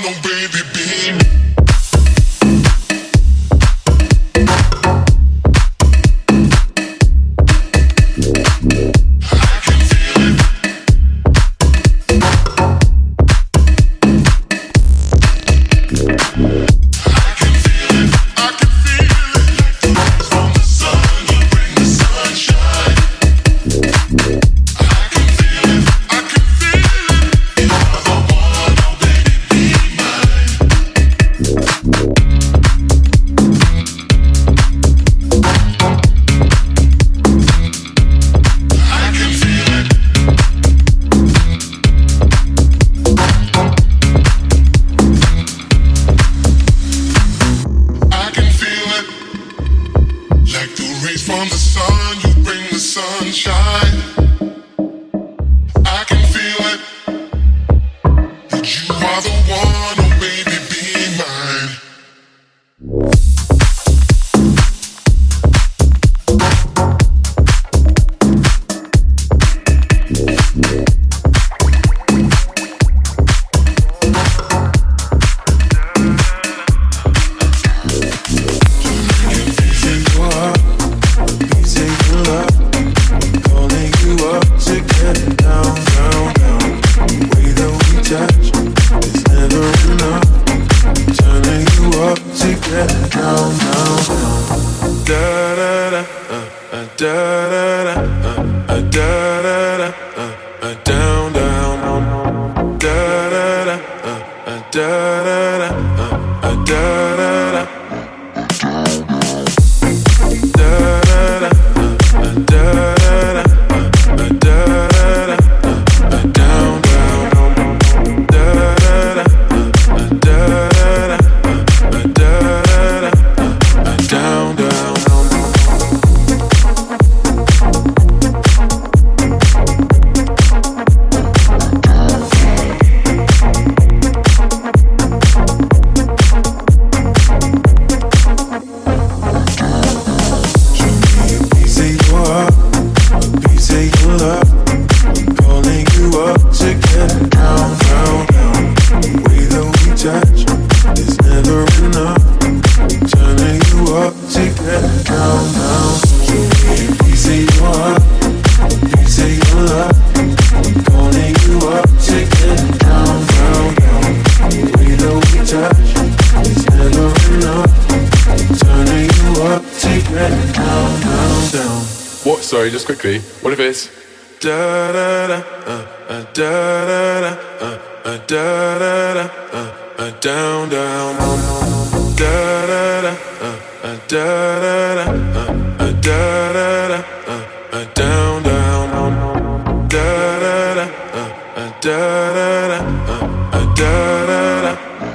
Sorry, just quickly. What if it's da da da da da da da da da down down da da da da da da da da down down da da da da da da da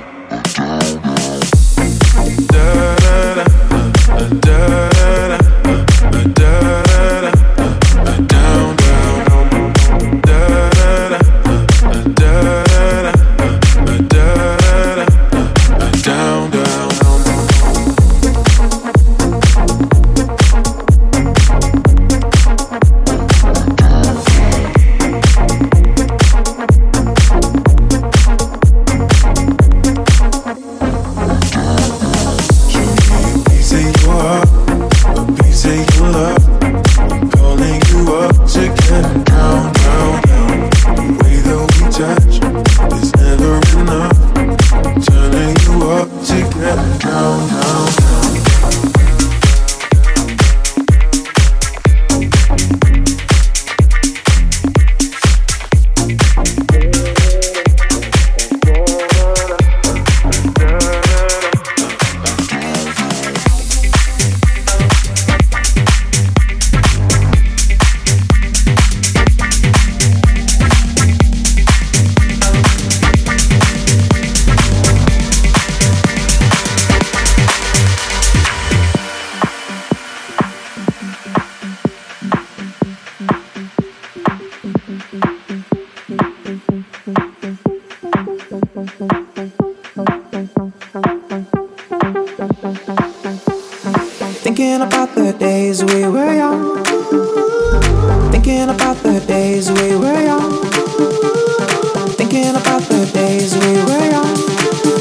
Thinking about the days we were young. Thinking about the days we were young. Thinking about the days we were young.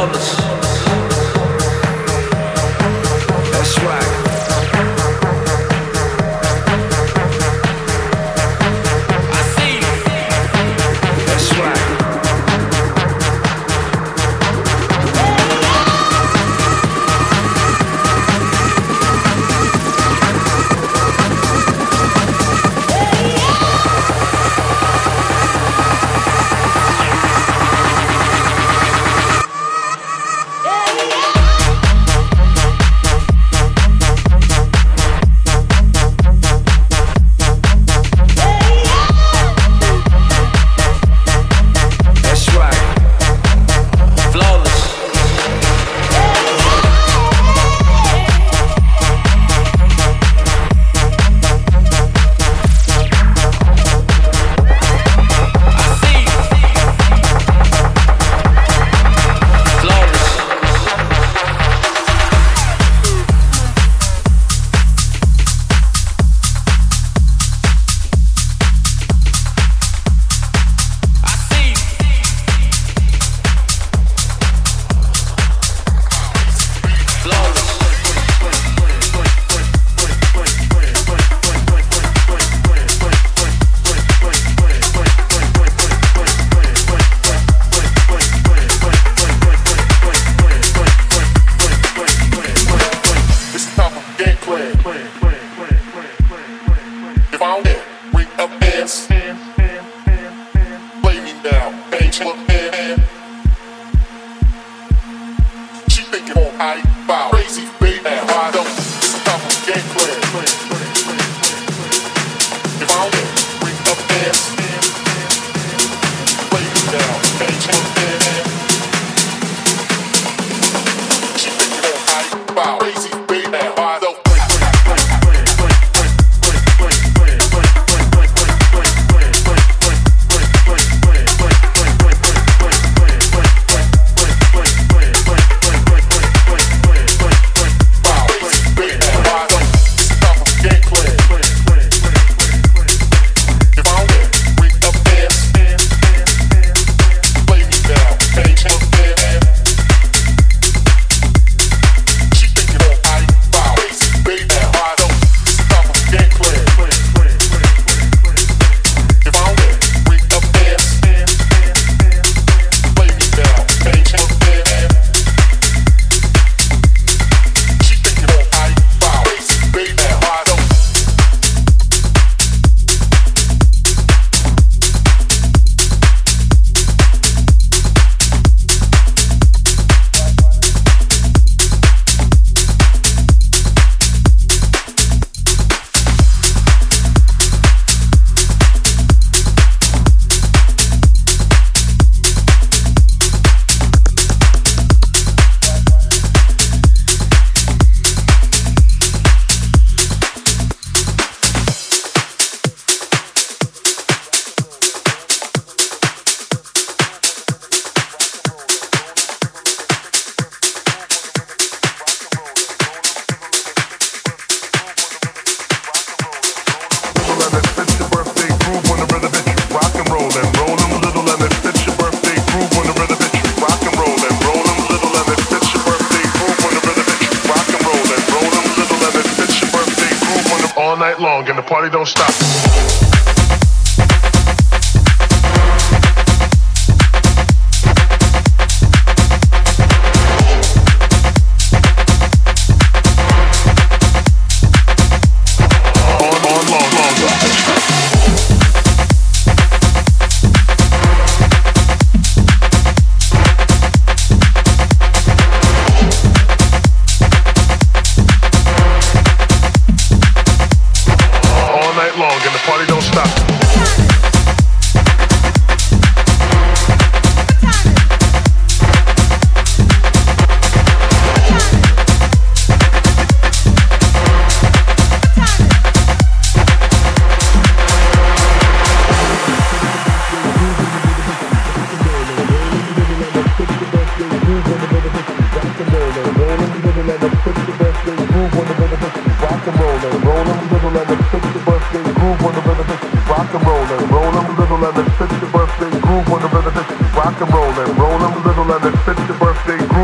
Rock and roll and roll 'em little and it's your birthday groove.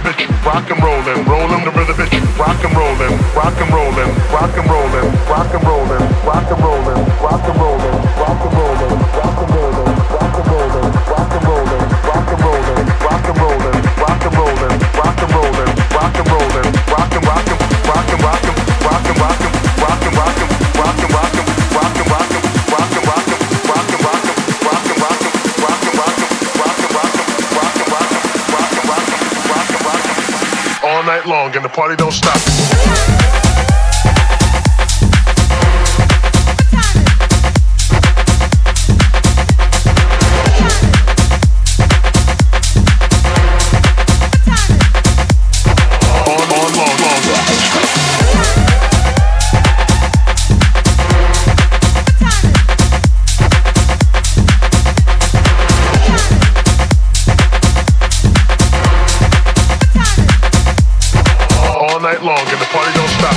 bitch, rock and rollin', rollin' the rhythm bitch, rock and rollin', rock and rollin', rock and rollin', rock and rollin', rock and rollin', rock and rollin', rock and rollin', rock and rollin', rock and rollin', rock and rollin', rock and rollin', rock and rollin', rock and rollin', rock and rollin', rock and rollin', rock and rockin', rock and rockin', rock and rockin', rock and rockin', rock and rockin', rock and rockin', rock and rockin', rock and rockin', rock and rockin', rock and rockin', rock and rockin', rock and rockin', rock and rockin', rock and rockin', all night long and the party don't stop. Long and the party don't stop.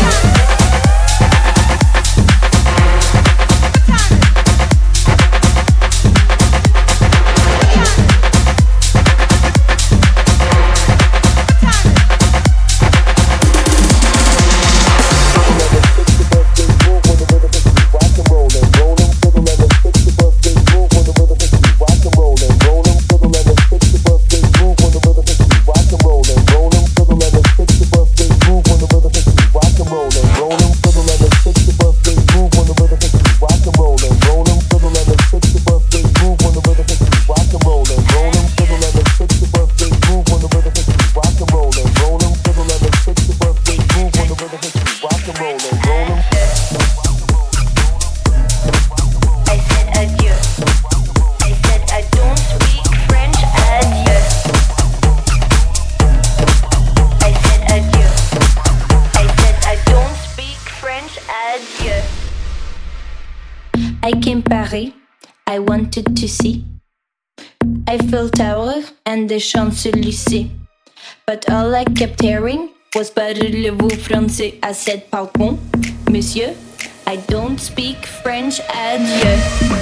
I came Paris, I wanted to see Eiffel Tower and the Champs-Élysées. But all I kept hearing was parlez-vous français? I said pardon, monsieur, I don't speak French, adieu.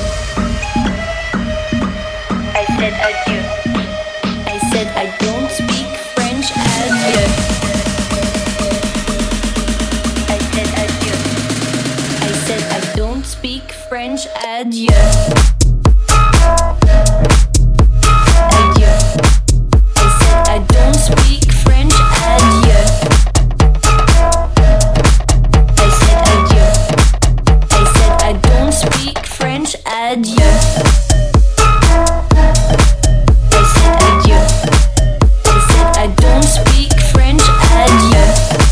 I said adieu. I said I don't speak French, adieu. I said adieu. I said I don't speak French, adieu. Adieu. I said I don't speak French, adieu. I said adieu. I said I don't speak French, adieu. I said adieu. I said I don't speak French, adieu.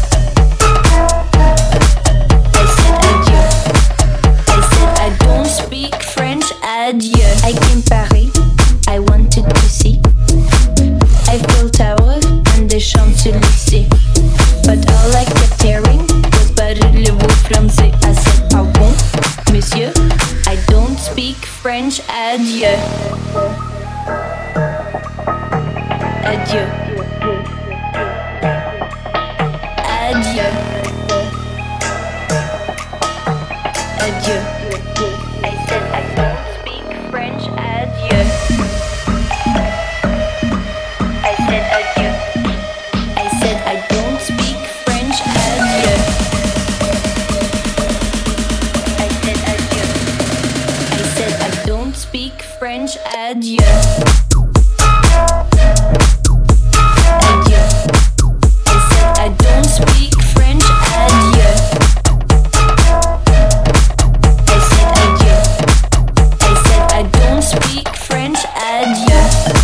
I said adieu. I said I don't speak French, adieu. I came Paris, I wanted to see Eiffel Tower and the Champs-Élysées. But all I kept hearing was parlez-vous français? I said pardon, monsieur, I don't speak French, adieu. Adieu. Adieu. Adieu. I said I don't speak French, adieu. I said adieu. I said I don't speak French, adieu. I said adieu. I said I don't speak French, adieu. Adieu. I said I don't speak French, adieu. I said adieu. I said I don't speak French, adieu.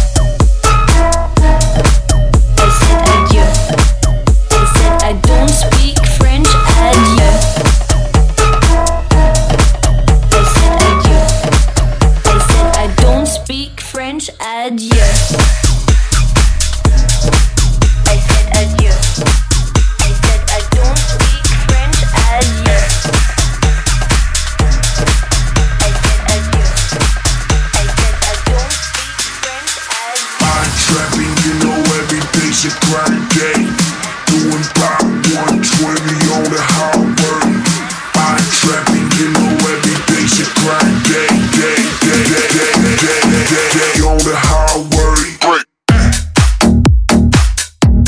I said adieu. I said I don't speak French, adieu. I said adieu. I said I don't speak French, adieu. I said adieu. I said I don't speak French, adieu. I said adieu. I said I don't speak French, adieu. I'm trapping, you know every day's a grind day. Doing pop 120 on the highway. I'm trapping, you know every day's a grind day. On the highway. Break.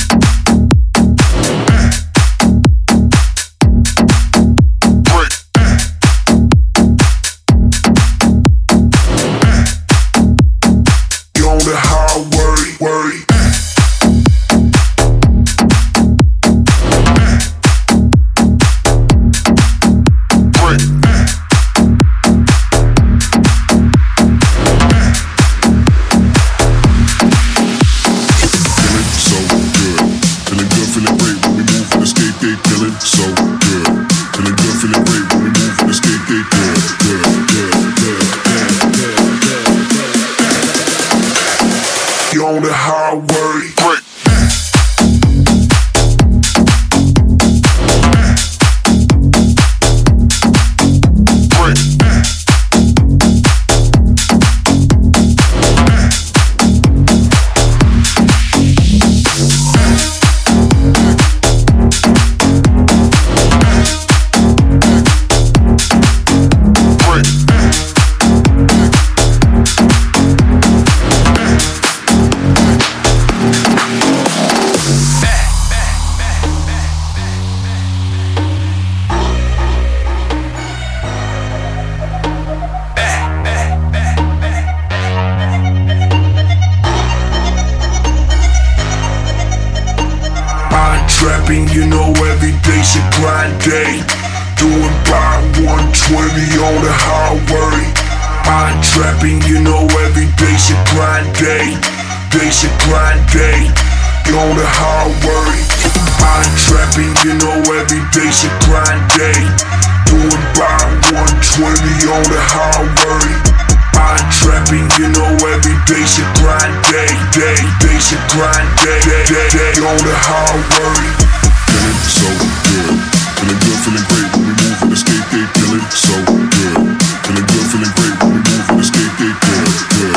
trapping, you know every day's a grind day. Doing by 120 on the highway. Mind trapping, you know every day's a grind day. Day's a grind day. On the highway. Mind trapping, you know every day's a grind day. Doing by 120 on the highway. Mind trapping, you know every day's a grind day. Day's a grind day. On the highway. Feeling so good. Feeling good, feeling great when we move and escape, they feeling so good. Feeling good, feeling great when we move and escape, they good.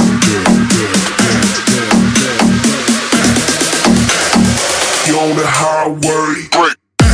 You're on the highway. Break.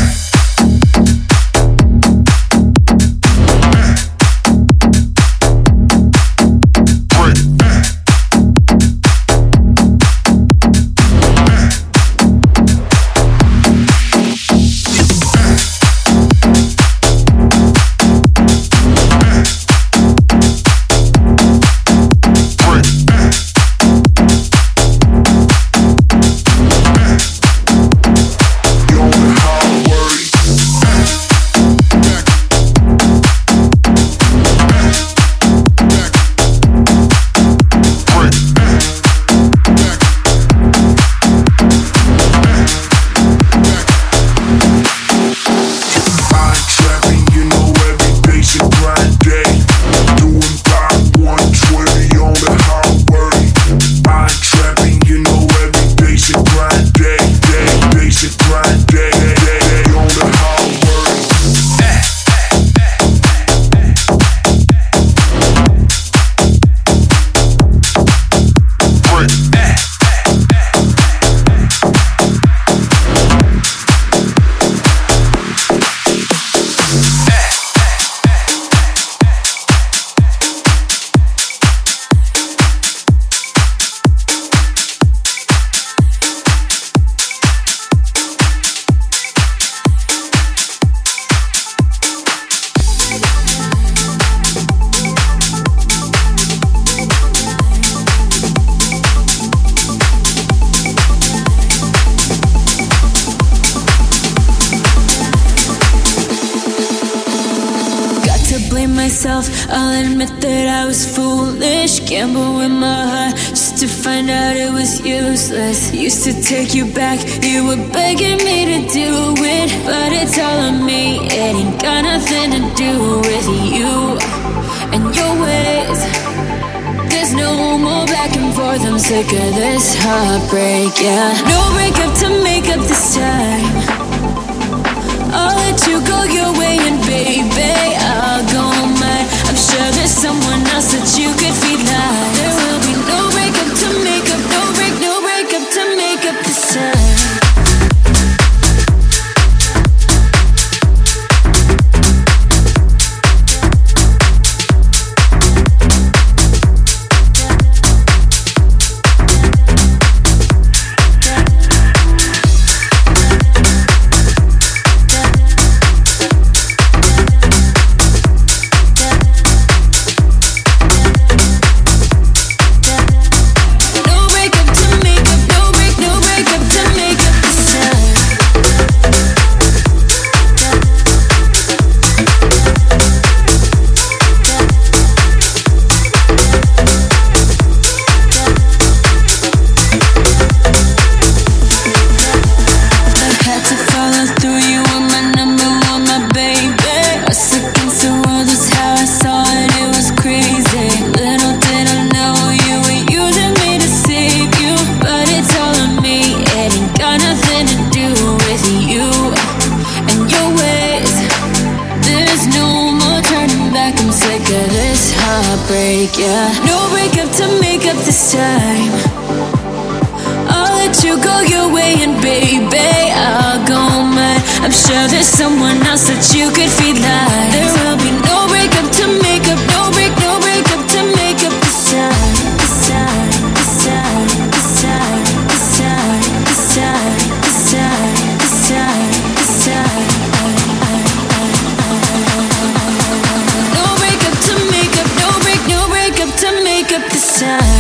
I'll admit that I was foolish, gamble with my heart just to find out it was useless. Used to take you back, you were begging me to do it, but it's all on me, it ain't got nothing to do with you and your ways. There's no more back and forth, I'm sick of this heartbreak, yeah. No breakup to make up this time. I'll let you go your way and baby, I'll go mine. I'm sure there's someone else that you could feel like. There will be no breakup to make up, no breakup to make up this time. Yeah, no breakup to make up this time. I'll let you go your way and baby, I'll go mine. I'm sure there's someone else that you could feel like. There will be no breakup to make up, no breakup to make up this time. This time, this time, this time, this time, this time, this time, this time, this time. No breakup to make up, no breakup to make up this time.